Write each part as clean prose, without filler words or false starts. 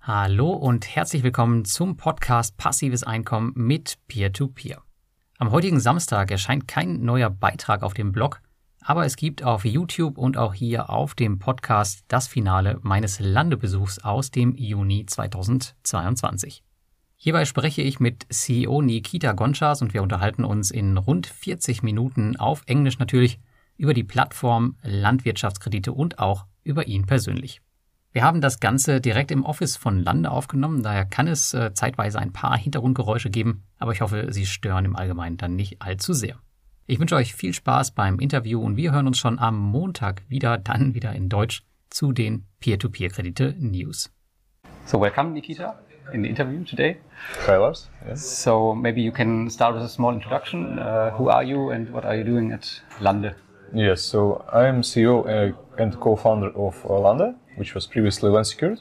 Hallo und herzlich willkommen zum Podcast Passives Einkommen mit Peer-to-Peer. Am heutigen Samstag erscheint kein neuer Beitrag auf dem Blog, aber es gibt auf YouTube und auch hier auf dem Podcast das Finale meines Landebesuchs aus dem Juni 2022. Hierbei spreche ich mit CEO Nikita Gonchas und wir unterhalten uns in rund 40 Minuten auf Englisch natürlich über die Plattform Landwirtschaftskredite und auch über ihn persönlich. Wir haben das Ganze direkt im Office von Lande aufgenommen, daher kann es zeitweise ein paar Hintergrundgeräusche geben, aber ich hoffe, sie stören im Allgemeinen dann nicht allzu sehr. Ich wünsche euch viel Spaß beim Interview und wir hören uns schon am Montag dann wieder in Deutsch zu den Peer-to-Peer-Kredite-News. So welcome Nikita in the interview today. Hi Lars. Yes. So maybe you can start with a small introduction. Who are you and what are you doing at Lande? Yes, so I am CEO and co-founder of Lande, which was previously Land Secured.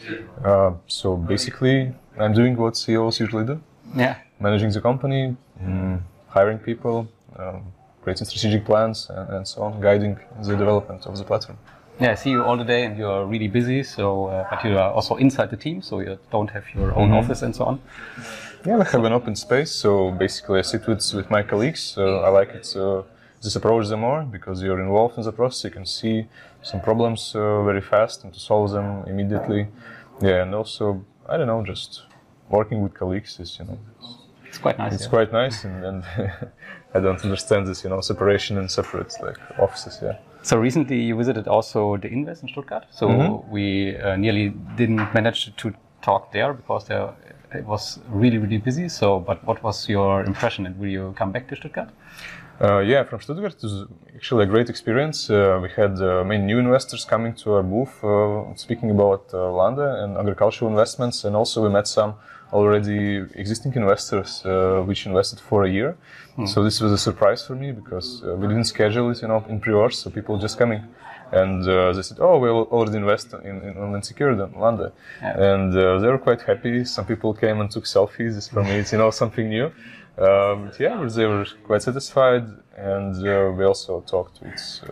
So basically, I'm doing what CEOs usually do. Yeah. Managing the company, hiring people, creating strategic plans, and so on, guiding the development of the platform. Yeah, I see you all the day and you're really busy, so but you are also inside the team, so you don't have your own office and so on. Yeah, we have an open space, so basically I sit with my colleagues, so I like it. This approach them more because you're involved in the process. You can see some problems very fast and to solve them immediately. Yeah, and also I don't know, just working with colleagues is It's quite nice. It's quite nice, and I don't understand this separation in separate offices. Yeah. So recently you visited also the Invest in Stuttgart. So we nearly didn't manage to talk there because it was really busy. So, but what was your impression, and will you come back to Stuttgart? Yeah, from Stuttgart it was actually a great experience. We had many new investors coming to our booth, speaking about Lande and agricultural investments, and also we met some already existing investors which invested for a year. So this was a surprise for me because we didn't schedule it, in pre-orders, so people just coming. And they said, "Oh, we'll already invest in Land Secured and Lande," and they were quite happy. Some people came and took selfies. This for me, it's something new. They were quite satisfied, and we also talked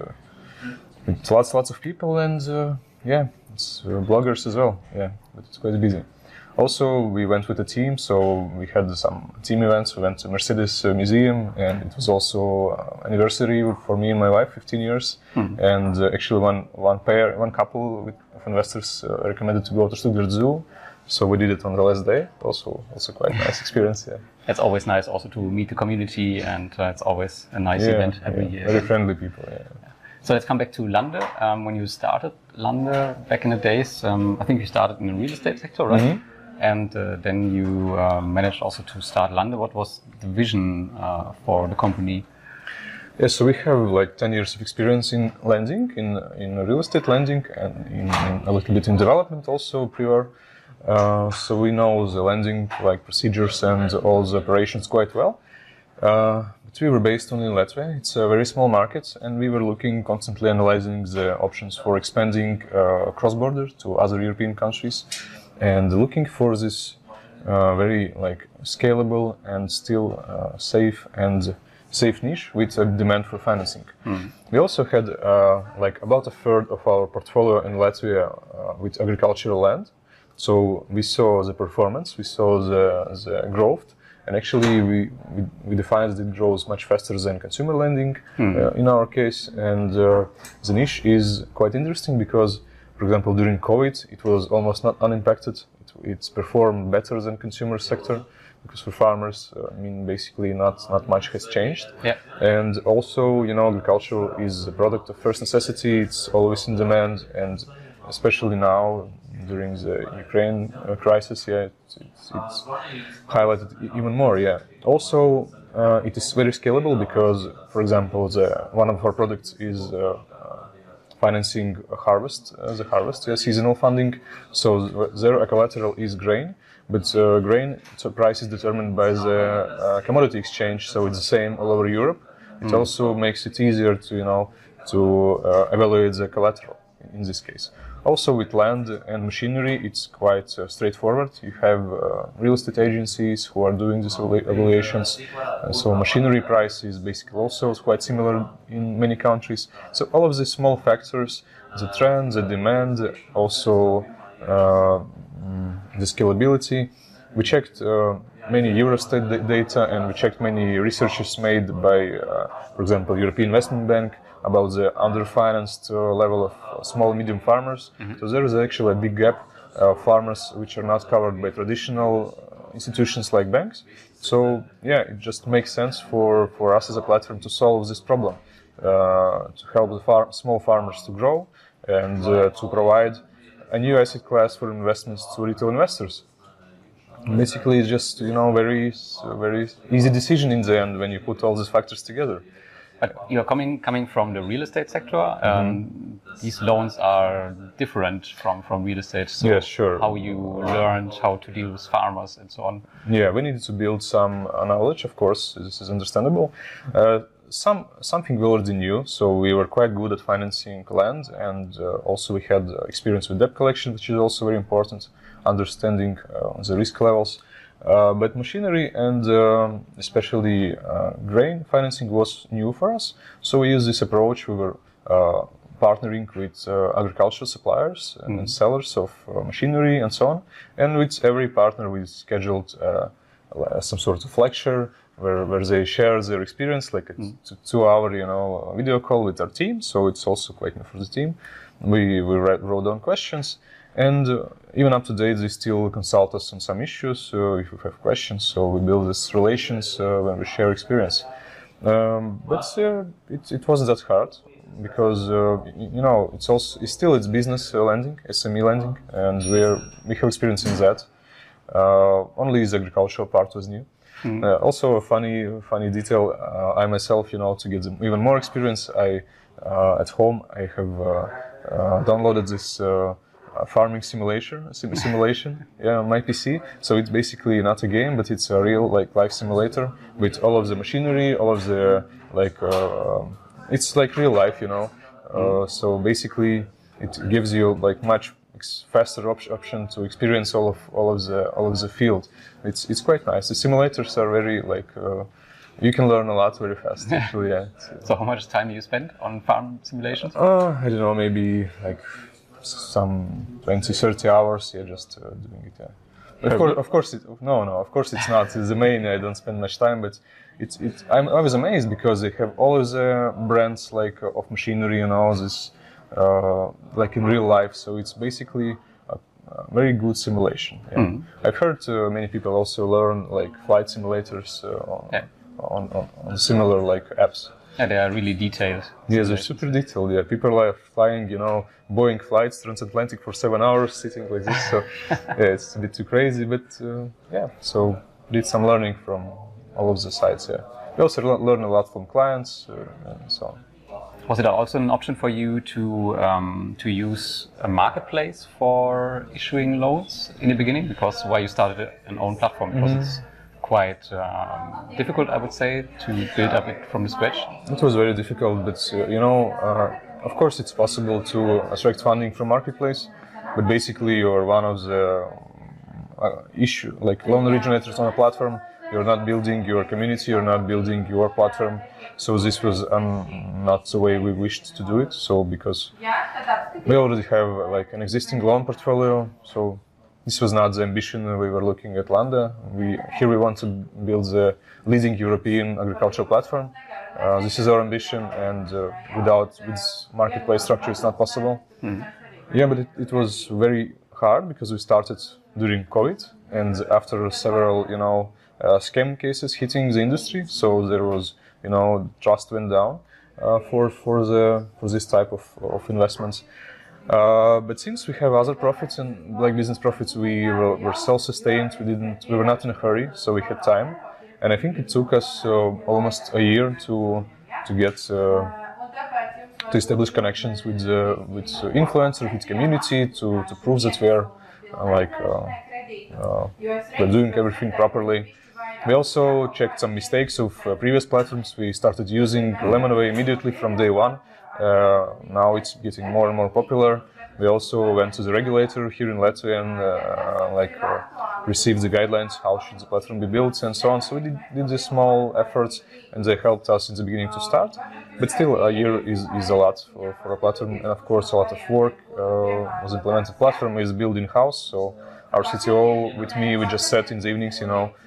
with lots of people, and it's bloggers as well. Yeah, but it's quite busy. Also, we went with a team, so we had some team events. We went to Mercedes Museum, and it was also anniversary for me and my wife, 15 years. And actually, one couple of investors recommended to go to Stuttgart Zoo, so we did it on the last day. Also quite nice experience. Yeah, it's always nice also to meet the community, and it's always a nice event every year. Very friendly people. Yeah. So let's come back to Lande. When you started Lande back in the days, I think you started in the real estate sector, right? Mm-hmm. And then you managed also to start Lande. What was the vision for the company? Yeah, so we have 10 years of experience in lending, in real estate lending, and in a little bit in development also prior. So we know the lending procedures and all the operations quite well. But we were based only in Latvia. It's a very small market, and we were constantly analyzing the options for expanding cross-border to other European countries, and looking for this very scalable and still safe niche with a demand for financing. We also had about a third of our portfolio in Latvia with agricultural land. So we saw the performance, we saw the growth, and actually we defined that it grows much faster than consumer lending in our case. And the niche is quite interesting because, for example, during COVID, it was almost not unimpacted. It's performed better than consumer sector because for farmers, basically not much has changed. Yeah. And also, agriculture is a product of first necessity. It's always in demand, and especially now during the Ukraine crisis, it's highlighted even more. Yeah. Also, it is very scalable because, for example, one of our products is financing the harvest, seasonal funding. So their collateral is grain, but grain price is determined by the commodity exchange, so it's the same all over Europe. It also makes it easier to evaluate the collateral in this case. Also, with land and machinery, it's quite straightforward. You have real estate agencies who are doing these evaluations. So machinery price is basically also quite similar in many countries. So all of these small factors, the trend, the demand, also the scalability. We checked many Eurostat data, and we checked many researches made by, for example, European Investment Bank about the underfinanced level of small and medium farmers. So there is actually a big gap of farmers which are not covered by traditional institutions like banks. So yeah, it just makes sense for us as a platform to solve this problem, to help the small farmers to grow and to provide a new asset class for investments to retail investors. Basically, it's just very easy decision in the end when you put all these factors together. But you're coming from the real estate sector. These loans are different from real estate. So yes, sure. How you learned how to deal with farmers and so on. Yeah, we needed to build some knowledge. Of course, this is understandable. Something we already knew, so we were quite good at financing land, and also we had experience with debt collection, which is also very important, understanding the risk levels. But machinery and especially grain financing was new for us, so we used this approach. We were partnering with agricultural suppliers and sellers of machinery and so on, and with every partner we scheduled some sort of lecture where they share their experience, like a 2-hour video call with our team. So it's also quite new for the team. We wrote down questions, and even up to date they still consult us on some issues if we have questions. So we build these relations when we share experience. But it wasn't that hard, because it's business lending, SME lending, and we have experience in that. Only the agricultural part was new. Also a funny detail, I myself, to get even more experience, at home I have downloaded this farming simulation on my PC. So it's basically not a game, but it's a real life simulator with all of the machinery, all of the it's like real life, So basically it gives you much faster option to experience all of the field. It's quite nice. The simulators are very you can learn a lot very fast. Actually, yeah. So how much time do you spend on farm simulations? I don't know, maybe some 20-30 hours. Yeah, just doing it. Yeah. Of course, it's not. It's the main. I don't spend much time, but I was amazed because they have all of the brands of machinery and all this. In real life, so it's basically a very good simulation. Yeah. I've heard many people also learn flight simulators on similar apps. Yeah, they are really detailed. Yes, they're super detailed. Yeah, people are flying, Boeing flights transatlantic for 7 hours, sitting like this. So yeah, it's a bit too crazy, but so did some learning from all of the sides. Yeah, we also learn a lot from clients and so on. Was it also an option for you to use a marketplace for issuing loans in the beginning? Because why you started an own platform? Because it's quite difficult, I would say, to build up it from the scratch. It was very difficult, but of course it's possible to attract funding from marketplace. But basically, you're one of the loan originators on a platform. You're not building your community, you're not building your platform. So this was not the way we wished to do it. So because we already have an existing loan portfolio, so this was not the ambition we were looking at Landa. We want to build the leading European agricultural platform. This is our ambition, and with marketplace structure, it's not possible. Yeah, but it was very hard because we started during COVID, and after several, scam cases hitting the industry, so there was, trust went down for this type of investments. But since we have other profits and business profits, we were self-sustained. We were not in a hurry, so we had time, and I think it took us almost a year to get to establish connections with influencers, with community, to prove that we're doing everything properly. We also checked some mistakes of previous platforms. We started using Lemonway immediately from day one. Now it's getting more and more popular. We also went to the regulator here in Latvia and received the guidelines, how should the platform be built and so on. So we did these small efforts, and they helped us in the beginning to start. But still, a year is a lot for a platform, and of course a lot of work was implemented. Platform is built in-house, so our CTO with me, we just sat in the evenings,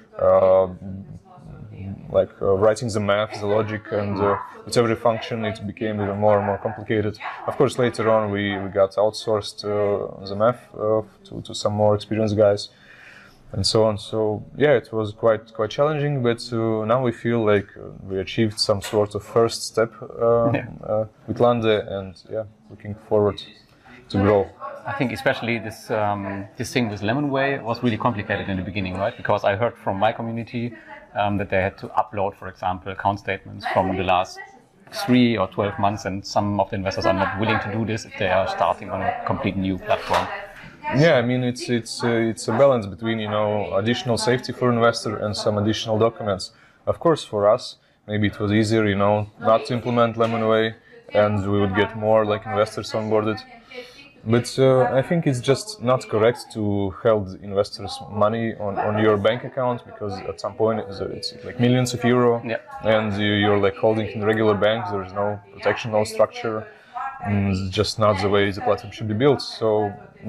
writing the math, the logic, and with every function it became even more and more complicated. Of course, later on we got outsourced the math to some more experienced guys, and so on. So yeah, it was quite challenging, but now we feel like we achieved some sort of first step with Lande, and looking forward to grow. I think especially this thing with Lemonway was really complicated in the beginning, right? Because I heard from my community that they had to upload, for example, account statements from the last 3 or 12 months, and some of the investors are not willing to do this if they are starting on a complete new platform. Yeah, I mean it's a balance between additional safety for investor and some additional documents. Of course, for us maybe it was easier not to implement Lemonway, and we would get more investors onboarded. But I think it's just not correct to hold investors' money on your bank account, because at some point it's like millions of euro, and you're holding in regular banks. There is no protection, no structure. It's just not the way the platform should be built. So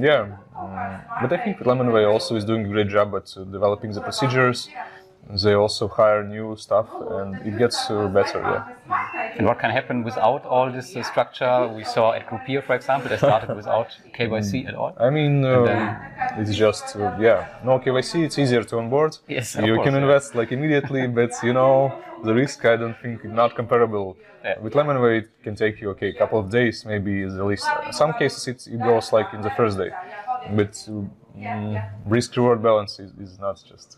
but I think Lemonway also is doing a great job at developing the procedures. They also hire new staff, and it gets better. And what can happen without all this structure? We saw at Groupier, for example, they started without KYC at all. I mean, it's just no KYC. It's easier to onboard. Yes, you can invest immediately, but the risk, I don't think, is not comparable. With Lemonway, it can take you a couple of days, maybe is the least. In some cases, it goes in the first day, but risk-reward balance is not just.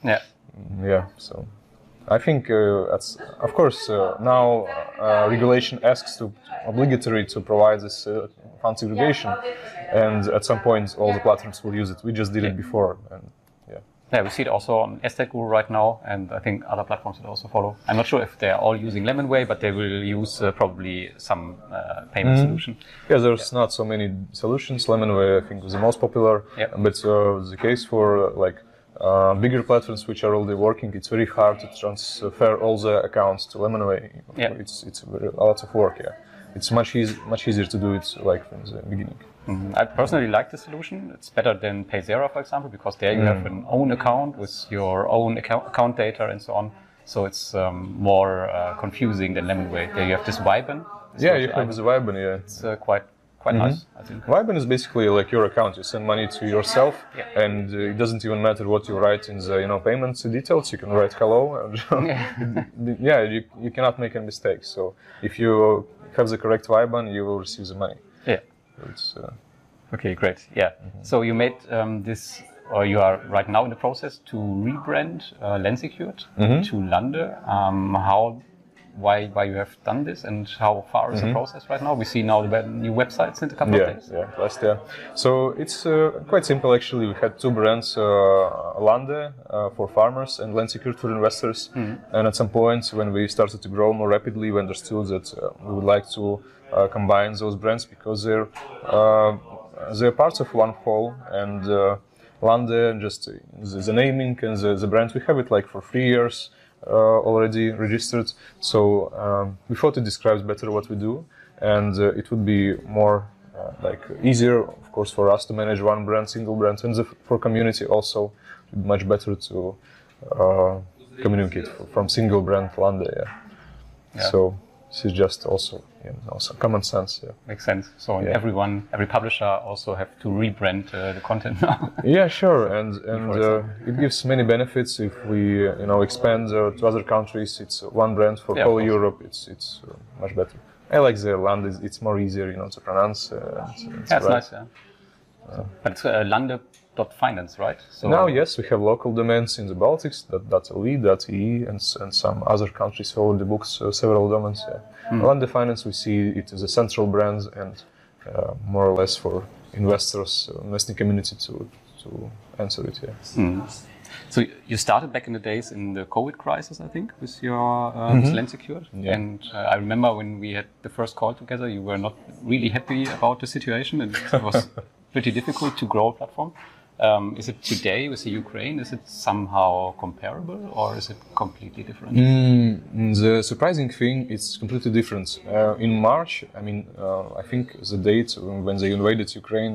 So I think of course now regulation asks to obligatory to provide this fund segregation, and at some point all the platforms will use it. We just did it before, and we see it also on Estate Guru right now, and I think other platforms will also follow. I'm not sure if they're all using Lemonway, but they will use probably some payment solution. Yeah, there's not so many solutions. Lemonway, I think, was the most popular, but the case for bigger platforms which are already working, it's very hard to transfer all the accounts to Lemonway. It's a lot of work. It's much easier to do it from the beginning. I personally like the solution. It's better than Payzera, for example, because there you have an own account with your own account data and so on. So it's more confusing than Lemonway. There you have this Viben. You have the Viben. It's quite nice, I think. Viben is basically like your account. You send money to yourself, and it doesn't even matter what you write in the payments details. You can write hello, and you cannot make a mistake. So if you have the correct Viben, you will receive the money. Okay, great. So you made this, or you are right now in the process to rebrand Lensecured to Lande. Why you have done this, and how far is the process right now? We see now the new website since a couple of days. So it's quite simple actually. We had two brands, Lande for farmers and Lensecured for investors. And at some point when we started to grow more rapidly, we understood that we would like to combine those brands, because they're parts of one whole. And Lande, just the naming and the brand, we have it for 3 years. Already registered, so we thought it describes better what we do, and it would be more easier, of course, for us to manage one brand, single brand, and for community also, it would be much better to communicate from single brand Lande. So this is just also some common sense. Makes sense. So every publisher also have to rebrand the content now. Sure, and it gives many benefits if we expand to other countries. It's one brand for whole Europe. It's much better. I like the Lande. It's more easier to pronounce. It's nice. But it's Lande.finance, right? So now, yes, we have local domains in the Baltics, .le, .ee, and some other countries already books several domains. Lande Finance, we see it as a central brand, and more or less for investors, investing community to answer it. So you started back in the days in the COVID crisis, I think, with your with Lensecured. And I remember when we had the first call together, you were not really happy about the situation, and it was pretty difficult to grow a platform. Is it today with the Ukraine? Is it somehow comparable, or is it completely different? The surprising thing, it's completely different. In March, I think the date when they invaded Ukraine,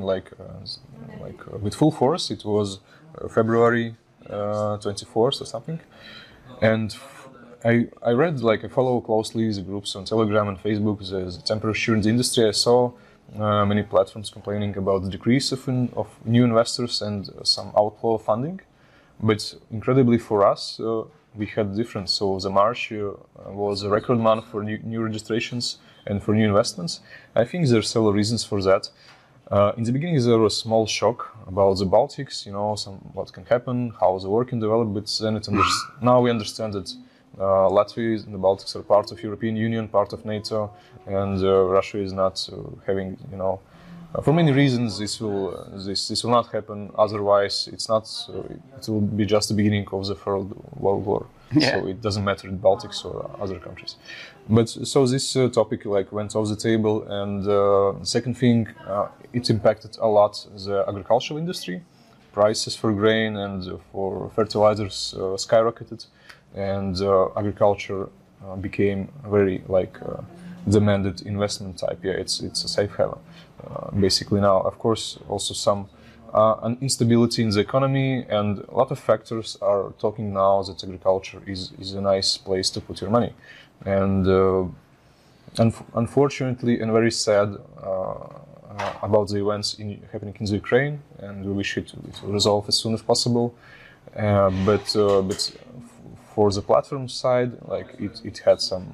with full force, it was February 24th or something. And I read, I follow closely the groups on Telegram and Facebook, the temperature in the industry. I saw many platforms complaining about the decrease of new investors and some outflow of funding. But incredibly for us, we had difference. So the March was a record month for new registrations and for new investments. I think there are several reasons for that. In the beginning, there was a small shock about the Baltics, what can happen, how the war can develop, but then now we understand that Latvia and the Baltics are part of European Union, part of NATO, and Russia is not having, for many reasons this will not happen. Otherwise, it will be just the beginning of the Third World War. Yeah. So it doesn't matter in Baltics or other countries. But so this topic went off the table, and second thing, it impacted a lot the agricultural industry. Prices for grain and for fertilizers skyrocketed, and agriculture became very demanded investment type. Yeah, it's a safe haven basically now. Of course, also some an instability in the economy, and a lot of factors are talking now that agriculture is a nice place to put your money. And unfortunately, and very sad about the events happening in the Ukraine, and we wish it will resolve as soon as possible. But for the platform side, it had some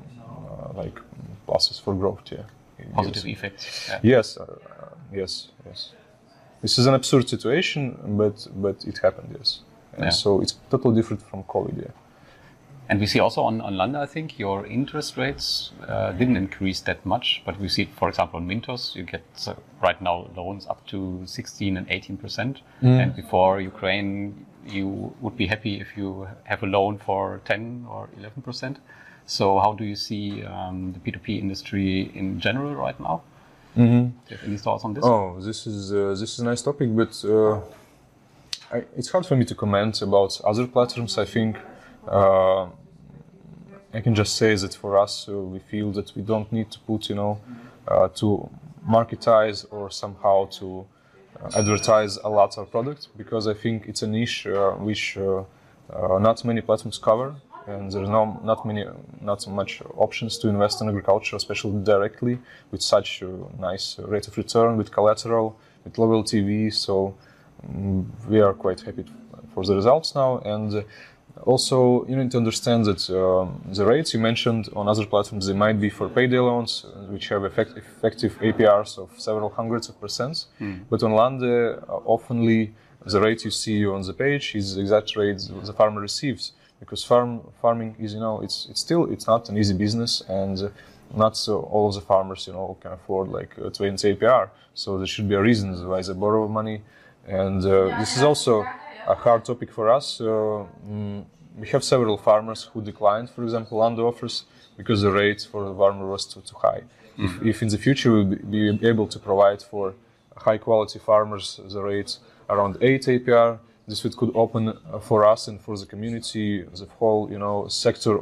pluses for growth. Yeah, positive effects. Yeah. Yes, yes. This is an absurd situation, but it happened. Yes, and so it's totally different from COVID. Yeah. And we see also on Landa, I think your interest rates didn't increase that much, but we see, for example, on Mintos, you get right now loans up to 16 and 18%. And before Ukraine, you would be happy if you have a loan for 10 or 11%. So how do you see the P2P industry in general right now? Do you have any thoughts on this? Oh, this is a nice topic, but it's hard for me to comment about other platforms. I think I can just say that for us, we feel that we don't need to put, to marketize or somehow to advertise a lot our product, because I think it's a niche which not many platforms cover, and there's not so much options to invest in agriculture, especially directly with such a nice rate of return, with collateral, with low LTV. So we are quite happy for the results now. And also, you need to understand that the rates you mentioned on other platforms, they might be for payday loans, which have effective APRs of several hundreds of percents. But on Landa, oftenly the rate you see on the page is the exact rate the farmer receives, because farming is, it's not an easy business, and not so all of the farmers, can afford 20 APR. So there should be a reason why they borrow money, and this is also a hard topic for us. We have several farmers who declined, for example, Landa offers, because the rate for the farmer was too high. If in the future we'll be able to provide for high quality farmers the rates around 8 APR, this could open for us and for the community the whole sector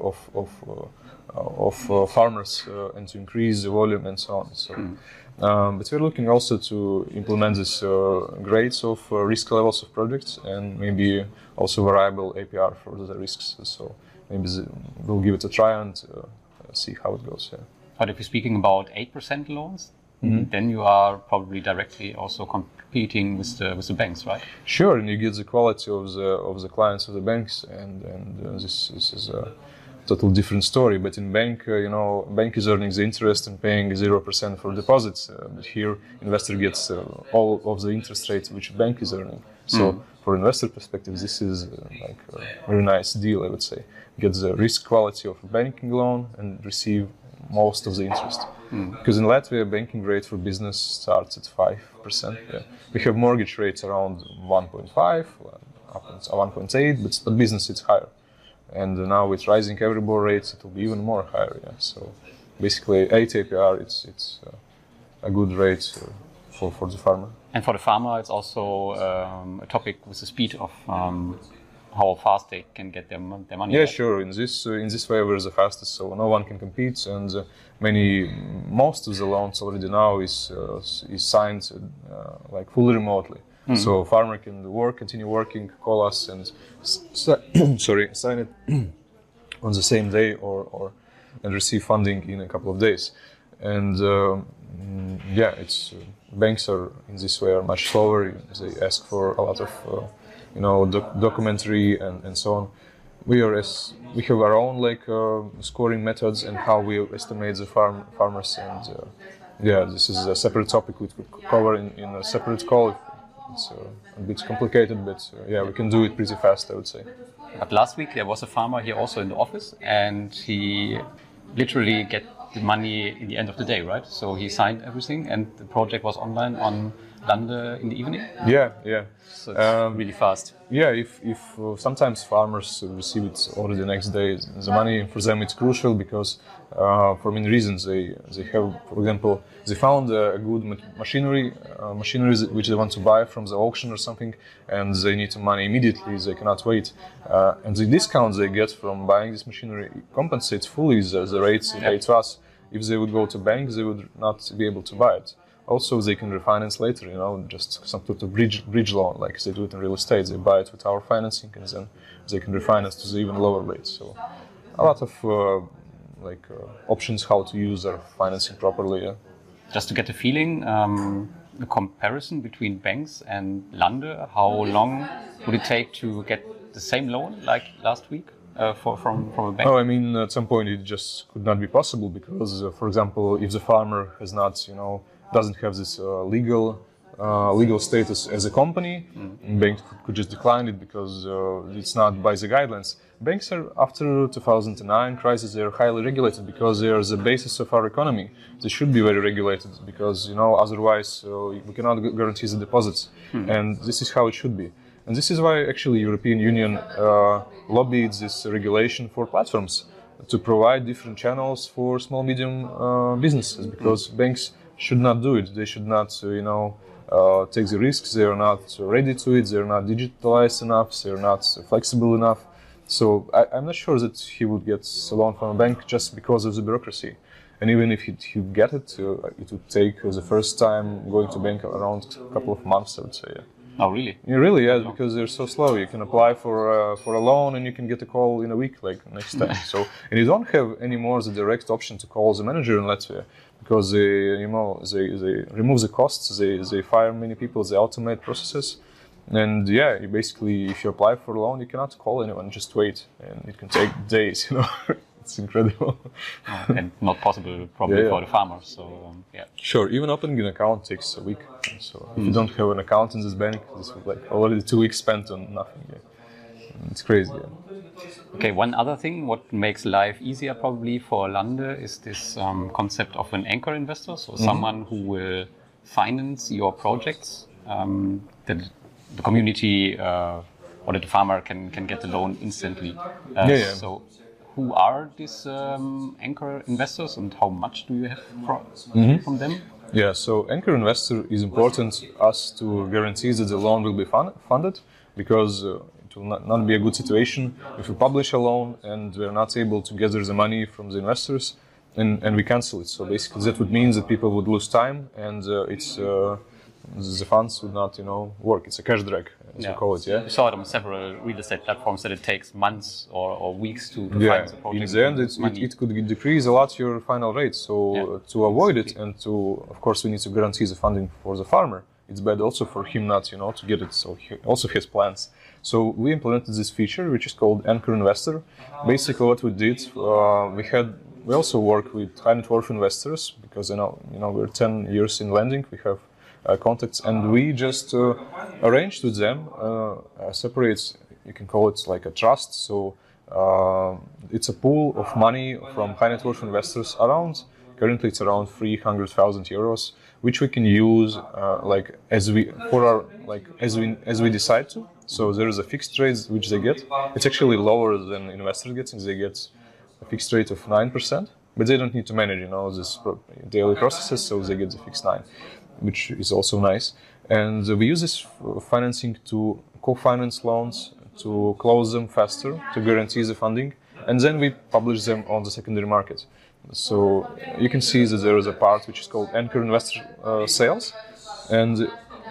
of farmers and to increase the volume and so on. So. But we're looking also to implement this grades of risk levels of projects, and maybe also variable APR for the risks. So maybe we'll give it a try and see how it goes. Yeah. But if you're speaking about 8% loans, then you are probably directly also competing with the banks, right? Sure, and you get the quality of the clients of the banks, and this is a total different story. But in bank, bank is earning the interest and paying 0% for deposits. But here, investor gets all of the interest rates which bank is earning. So for investor perspective, this is a very nice deal, I would say. Get the risk quality of a banking loan and receive most of the interest. Because in Latvia, banking rate for business starts at 5%. Yeah. We have mortgage rates around 1.5, up to 1.8, but business it's higher. And now with rising Euribor rates, it will be even more higher. Yeah. So basically, 8 APR, it's a good rate for the farmer. And for the farmer, it's also a topic with the speed of how fast they can get their money. Yeah, sure. In this way, we're the fastest, so no one can compete. And most of the loans already now is signed like fully remotely. So farmer can continue working, call us, and sign it on the same day, and receive funding in a couple of days. And it's banks are in this way are much slower. They ask for a lot of documentary and so on. We have our own scoring methods and how we estimate the farmers. And this is a separate topic we could cover in a separate call. It's a bit complicated, but we can do it pretty fast, I would say. But last week there was a farmer here also in the office, and he literally get the money in the end of the day, right? So he signed everything, and the project was online on Lande in the evening. Yeah. So it's really fast. Yeah, if sometimes farmers receive it already the next day, the money for them it's crucial because for many reasons they have, for example, they found a good machinery which they want to buy from the auction or something, and they need the money immediately. They cannot wait, and the discounts they get from buying this machinery compensates fully the rates they pay to us. If they would go to banks, they would not be able to buy it. Also, they can refinance later, just some sort of bridge loan, like they do it in real estate. They buy it with our financing, and then they can refinance to the even lower rates. So, a lot of options how to use our financing properly. Yeah. Just to get a feeling, the comparison between banks and Lande, how long would it take to get the same loan like last week from a bank? Oh, I mean, at some point it just could not be possible because, for example, if the farmer has not, doesn't have this legal status as a company, bank could just decline it because it's not by the guidelines. Banks are, after 2009 crisis, they are highly regulated because they are the basis of our economy. They should be very regulated because, otherwise we cannot guarantee the deposits. And this is how it should be. And this is why actually European Union lobbied this regulation for platforms to provide different channels for small, medium businesses, because banks should not do it. They should not, take the risks. They are not ready to it. They are not digitalized enough. They are not flexible enough. So I'm not sure that he would get a loan from a bank just because of the bureaucracy. And even if he get it, it would take the first time going to bank around a couple of months, I would say. Yeah. Oh, really? Yeah, really, yeah, because they're so slow. You can apply for a loan and you can get a call in a week, like next time. So, and you don't have anymore the direct option to call the manager in Latvia because they remove the costs, they fire many people, they automate processes. And you basically, if you apply for a loan, you cannot call anyone, just wait. And it can take days, It's incredible. And not possible probably for the farmers. So, Sure, even opening an account takes a week. So if you don't have an account in this bank, this was already 2 weeks spent on nothing. Yeah. It's crazy. Yeah. Okay, one other thing, what makes life easier probably for Lande is this concept of an anchor investor. So someone who will finance your projects, that the community or that the farmer can get the loan instantly. So who are these anchor investors and how much do you have from them? Yeah, so anchor investor is important us to guarantee that the loan will be funded, because it will not be a good situation if we publish a loan and we're not able to gather the money from the investors and we cancel it. So basically that would mean that people would lose time and the funds would not, work. It's a cash drag, as we call it. Yeah. We saw it on several real estate platforms that it takes months or weeks to find the project. In the end, it could decrease a lot your final rate. So to avoid it, and of course, we need to guarantee the funding for the farmer. It's bad also for him not, to get it. So he also has plans. So we implemented this feature, which is called Anchor Investor. Basically, what we did, we also work with high net worth investors because we're 10 years in lending. We have contacts, and we just arranged with them separate, you can call it like a trust. So it's a pool of money from high net worth investors currently it's around 300,000 euros, which we can use as we decide to. So there is a fixed rate which they get. It's actually lower than investors get, since they get a fixed rate of 9%, but they don't need to manage this daily processes, so they get the fixed 9%. which is also nice. And we use this financing to co-finance loans, to close them faster, to guarantee the funding, and then we publish them on the secondary market. So you can see that there is a part which is called anchor investor sales, and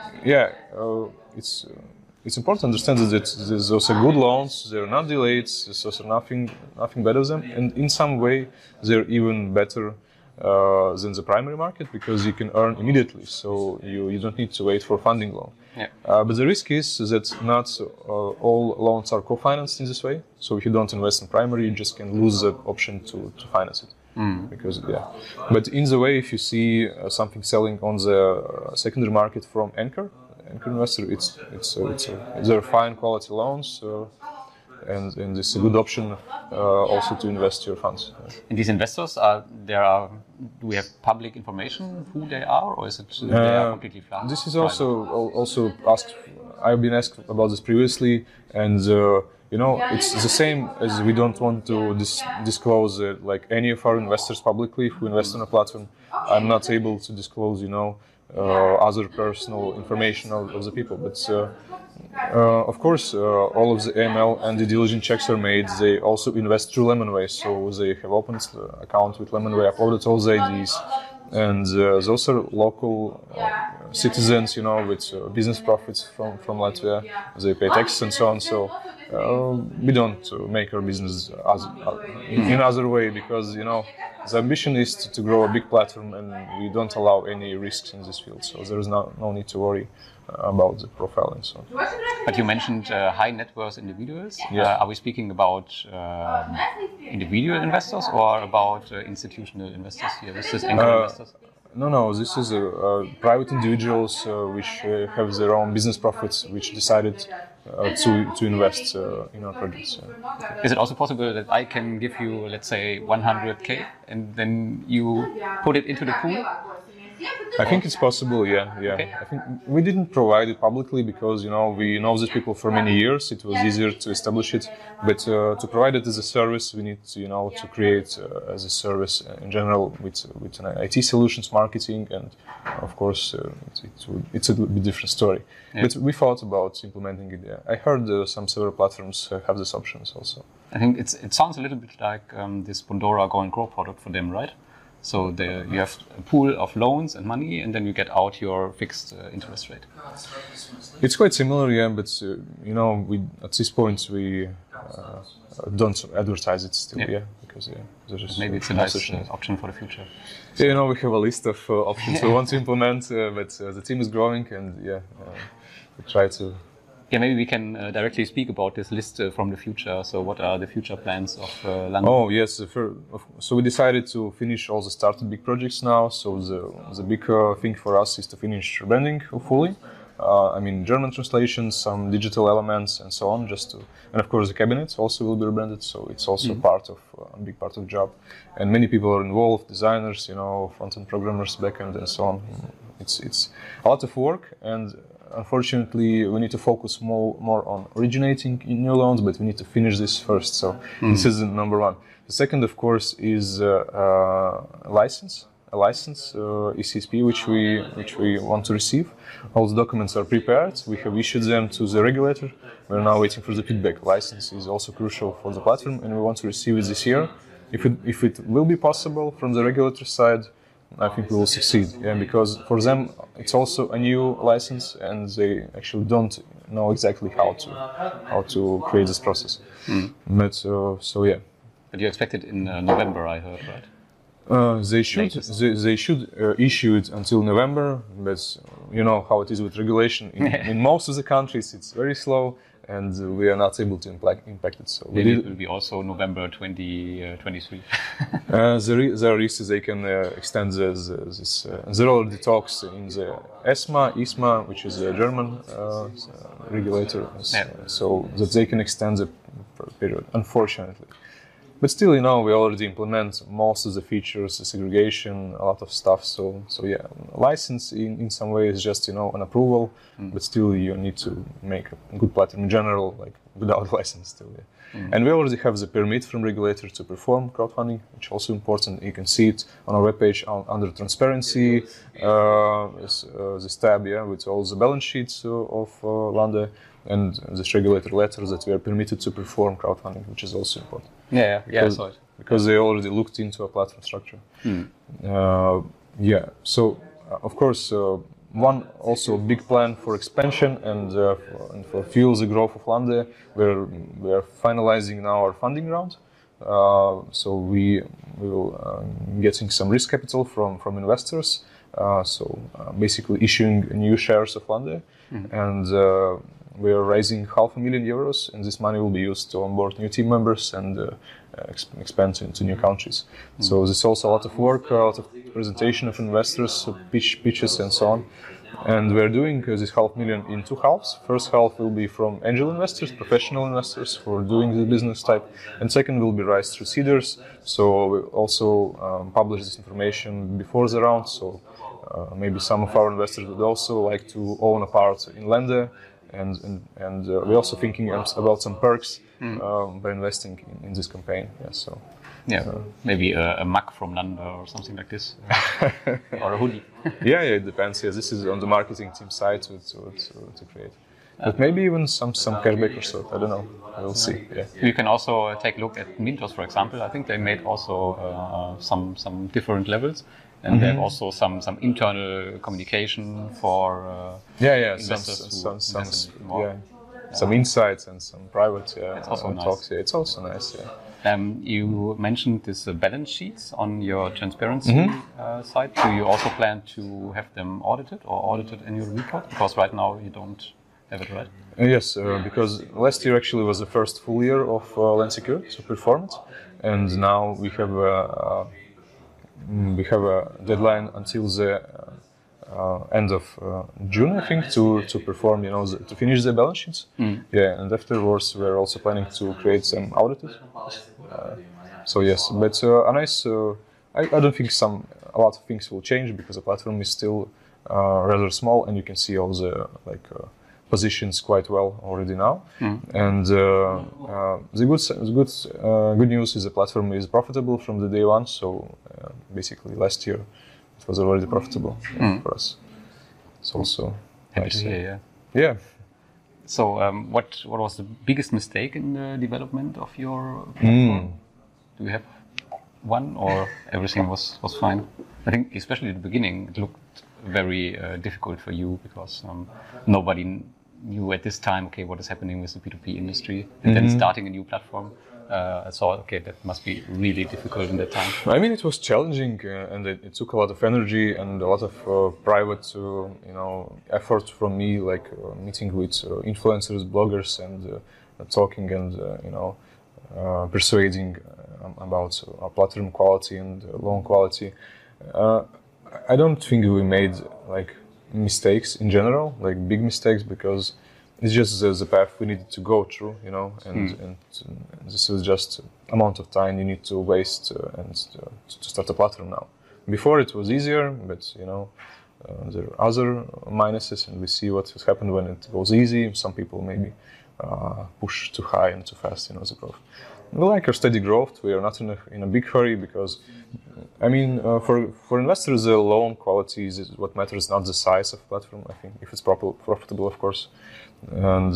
it's important to understand that there's also good loans. They're not delayed. There's also nothing better than them, and in some way they're even better than the primary market because you can earn immediately. So you don't need to wait for funding loan. Yeah. But the risk is that not all loans are co-financed in this way. So if you don't invest in primary, you just can lose the option to finance it. Because but in the way, if you see something selling on the secondary market from anchor investor, they're fine quality loans, and it's a good option also to invest your funds. And these investors do we have public information who they are, or is it they are completely private? This is also asked. I've been asked about this previously, and it's the same as we don't want to disclose like any of our investors publicly who invest on a platform. I'm not able to disclose, other personal information of the people. But of course, all of the AML and due diligence checks are made. They also invest through Lemonway, so they have opened the account with Lemonway, uploaded all the IDs, and those are local citizens, with business profits from Latvia. They pay taxes and so on. So we don't make our business in other way because the ambition is to grow a big platform, and we don't allow any risks in this field. So there is no need to worry about the profile and so on. But you mentioned high net worth individuals. Yeah. Are we speaking about individual investors or about institutional investors here? This is anchor investors? No. This is private individuals which have their own business profits, which decided to invest in our projects. Is it also possible that I can give you, let's say, 100K and then you put it into the pool? I think it's possible, yeah. Okay. I think we didn't provide it publicly because, we know these people for many years. It was easier to establish it. But to provide it as a service, we need to create as a service in general with an IT solutions marketing. And of course, it's a bit different story. Yeah. But we thought about implementing it. Yeah. I heard several platforms have these options also. I think it sounds a little bit like this Bondora Go and Grow product for them, right? So you have a pool of loans and money, and then you get out your fixed interest rate. It's quite similar, yeah. But we at this point we don't advertise it still, because there's maybe it's a nice option for the future. We have a list of options we want to implement, but the team is growing, and we try to. Yeah, maybe we can directly speak about this list from the future. So what are the future plans of London? Oh, yes. So we decided to finish all the started big projects now. So the big thing for us is to finish branding fully. German translations, some digital elements and so on, and of course the cabinets also will be rebranded. So it's also a big part of the job. And many people are involved, designers, front-end programmers, back-end and so on. It's a lot of work, and unfortunately, we need to focus more on originating new loans, but we need to finish this first. So this is number one. The second, of course, is a license, ECSP, which we want to receive. All the documents are prepared. We have issued them to the regulator. We're now waiting for the feedback. License is also crucial for the platform, and we want to receive it this year. If it will be possible from the regulator side, I think we will succeed, because for them it's also a new license, and they actually don't know exactly how to create this process. But But you expect it in November, I heard, right? They should issue it until November, but you know how it is with regulation. In most of the countries, it's very slow, and we are not able to impact it. So maybe it will be also November 2023. There are risks they can extend this. There are already talks in the ISMA, which is a German regulator, so that they can extend the period. Unfortunately. But still, we already implement most of the features, the segregation, a lot of stuff. So yeah, license in some way is just, an approval, but still you need to make a good platform in general, like without license still, yeah. And we already have the permit from regulator to perform crowdfunding, which is also important. You can see it on our webpage under transparency, this tab, with all the balance sheets of Lande and this regulator letter that we are permitted to perform crowdfunding, which is also important. Yeah, I saw it. Because they already looked into a platform structure. So of course, one also big plan for expansion and for fuel the growth of Lande. We are finalizing now our funding round. So we will getting some risk capital from investors. Basically issuing new shares of Lande, and we are raising €500,000, and this money will be used to onboard new team members and expand into new countries. So there's also a lot of work, a lot of presentation of investors, pitches, and so on. And we're doing this €500,000 in two halves. First half will be from angel investors, professional investors who are doing the business type, and second will be raised through seeders. So we also publish this information before the round. So maybe some of our investors would also like to own a part in Lande, and we're also thinking about some perks by investing in this campaign. Maybe a mug from Lande or something like this, or a hoodie. It depends. This is on the marketing team side to create. But maybe even some cashback or so. I don't know. We'll see. Yeah. You can also take a look at Mintos, for example. I think they made also some different levels, and they have also some internal communication for investors some insights and some private it's also nice. talks. Yeah, it's also nice. You mentioned this balance sheets on your transparency side. Do you also plan to have them audited or audited in your report? Because right now you don't have it, right? Yes, because last year actually was the first full year of Land Secure, so performance, and now we have a deadline until the end of June, I think, to perform, to finish the balance sheets. And afterwards we're also planning to create some auditors. So yes, but a nice. I don't think a lot of things will change because the platform is still rather small, and you can see all the positions quite well already now. And the good news is the platform is profitable from the day one. So basically, last year it was already profitable for us. It's also happy to hear. Yeah. So, what was the biggest mistake in the development of your platform? Do you have one, or everything was fine? I think, especially at the beginning, it looked very difficult for you because nobody knew at this time, what is happening with the P2P industry, and then starting a new platform. I thought, that must be really difficult in that time. I mean, it was challenging, and it took a lot of energy and a lot of private, effort from me, like meeting with influencers, bloggers, and talking and persuading about our platform quality and loan quality. I don't think we made mistakes in general, big mistakes, because it's just the path we needed to go through, and this is just amount of time you need to waste to start a platform now. Before it was easier, but there are other minuses, and we see what has happened when it goes easy. Some people maybe push too high and too fast, the growth. We like our steady growth. We are not in a big hurry because, for investors, the loan quality is what matters, not the size of platform. I think if it's profitable, of course. And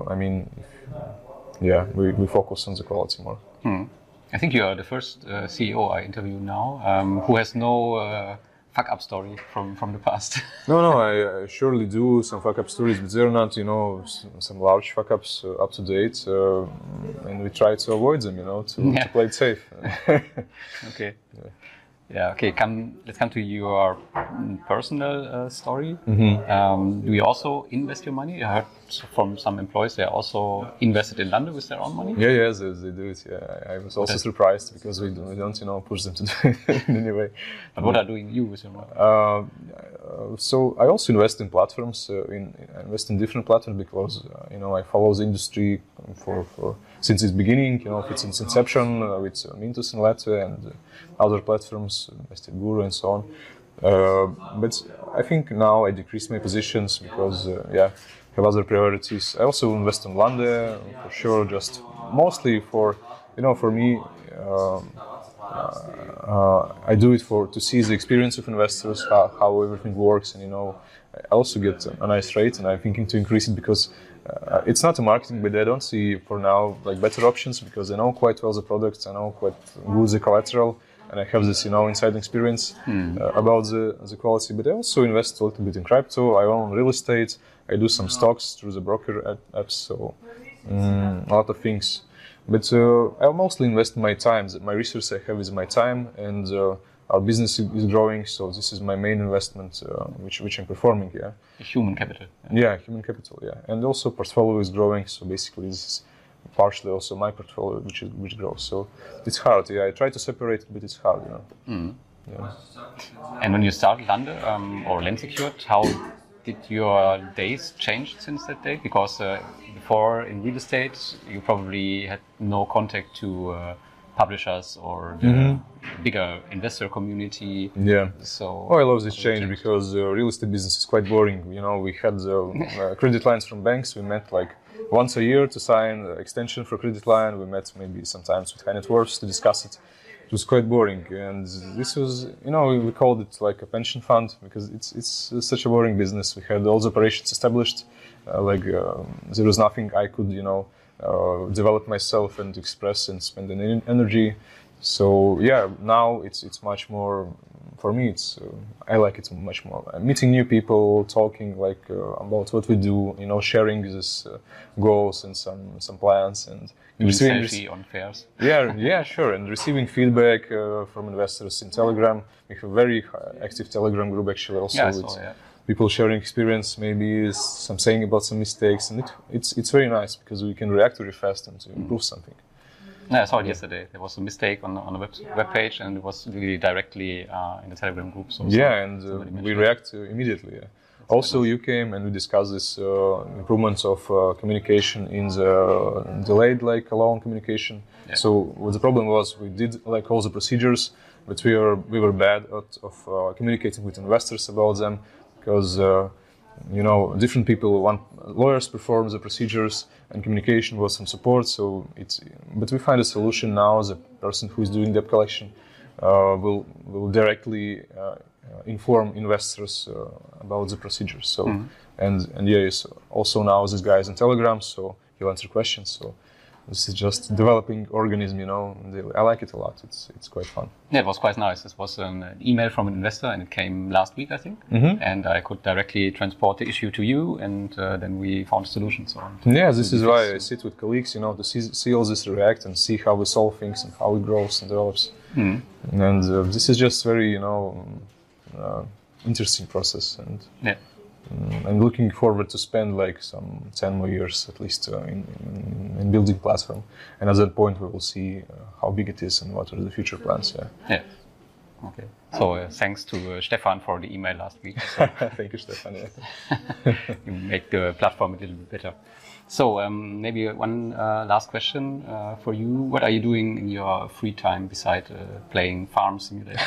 we focus on the quality more. I think you are the first CEO I interview now who has no fuck-up story from the past. No, I surely do some fuck-up stories, but they're not, some large fuck-ups up to date, and we try to avoid them, to play it safe. Okay. Let's come to your personal story. Do you also invest your money? I heard from some employees they also invested in Lande with their own money. Yeah, they do it. Yeah, I was also surprised because we don't push them to do it in any way. But what are doing you with your money? So I also invest in platforms. I invest in different platforms because I follow the industry since its beginning, its inception with Mintos in Latvia and other platforms, Investor Guru and so on. But I think now I decreased my positions because have other priorities. I also invest in Lande for sure, just mostly for me. I do it to see the experience of investors, how everything works, and I also get a nice rate, and I'm thinking to increase it because it's not a marketing, but I don't see for now like better options because I know quite well the products, I know quite good the collateral, and I have this inside experience about the quality. But I also invest a little bit in crypto. I own real estate. I do some stocks through the broker apps, so a lot of things. But I mostly invest my time. My resource I have is my time, and our business is growing. So this is my main investment, which I'm performing. Yeah. Human capital. Yeah, human capital. Yeah, and also portfolio is growing. So basically, this is partially also my portfolio, which grows. So it's hard. Yeah, I try to separate it, but it's hard. Yeah. And when you started Lande or Lensecured, how did your days change since that day? Because before in real estate, you probably had no contact to publishers or the bigger investor community. Yeah. So I love this change because real estate business is quite boring. We had credit lines from banks. We met like once a year to sign extension for credit line. We met maybe sometimes with high net worths to discuss it. It was quite boring, and this was, we called it like a pension fund because it's such a boring business. We had all the operations established, there was nothing I could, develop myself and express and spend any energy. So yeah, now it's much more. For me, I like it much more. Meeting new people, talking about what we do, sharing these goals and some plans and receiving on fairs. Yeah, sure. And receiving feedback from investors in Telegram. We have a very active Telegram group actually also people sharing experience, maybe some saying about some mistakes, and it's very nice because we can react very fast and to improve something. Yeah, I saw it yesterday. There was a mistake on the web page, and it was really directly in the Telegram group. So we react immediately. Yeah. Also, you came and we discussed this improvements of communication in the delayed loan communication. Yeah. So what the problem was, we did all the procedures, but we were bad at communicating with investors about them because different people want lawyers perform the procedures and communication was some support. So but we find a solution now. The person who is doing debt collection will directly inform investors about the procedures. So and also now this guy is on Telegram, so he'll answer questions. So this is just developing organism, I like it a lot. It's quite fun. Yeah, it was quite nice. This was an email from an investor, and it came last week, I think. And I could directly transport the issue to you, and then we found a solution. So yeah, this is why I sit with colleagues, to see all this react and see how we solve things and how it grows and develops. And this is just very, interesting process. And I'm looking forward to spend some 10 more years at least in building platform, and at that point we will see how big it is and what are the future plans. Yeah. Okay. So thanks to Stefan for the email last week. So thank you, Stefan. You make the platform a little bit better. So maybe one last question for you. What are you doing in your free time beside playing Farm Simulator?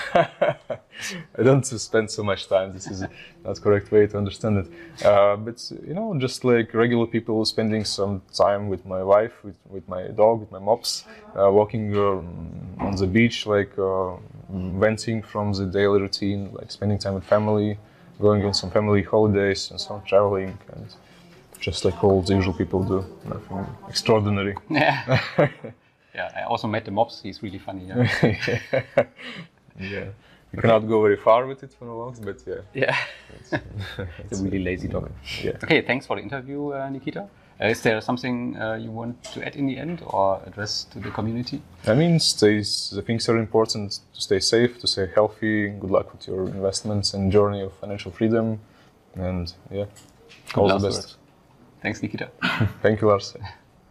I don't spend so much time. This is not the correct way to understand it. But just like regular people, spending some time with my wife, with my dog, with my mops, walking on the beach, venting from the daily routine, spending time with family, going on some family holidays and some traveling, and just like all the usual people do, nothing extraordinary. Yeah. Yeah, I also met the mops. He's really funny. Yeah. You cannot go very far with it for the walks, but yeah. It's a really lazy dog. Yeah. Okay, thanks for the interview, Nikita. Is there something you want to add in the end or address to the community? I mean, the things are important: to stay safe, to stay healthy. Good luck with your investments and journey of financial freedom. And all the best. Thanks, Nikita. Thank you, Lars.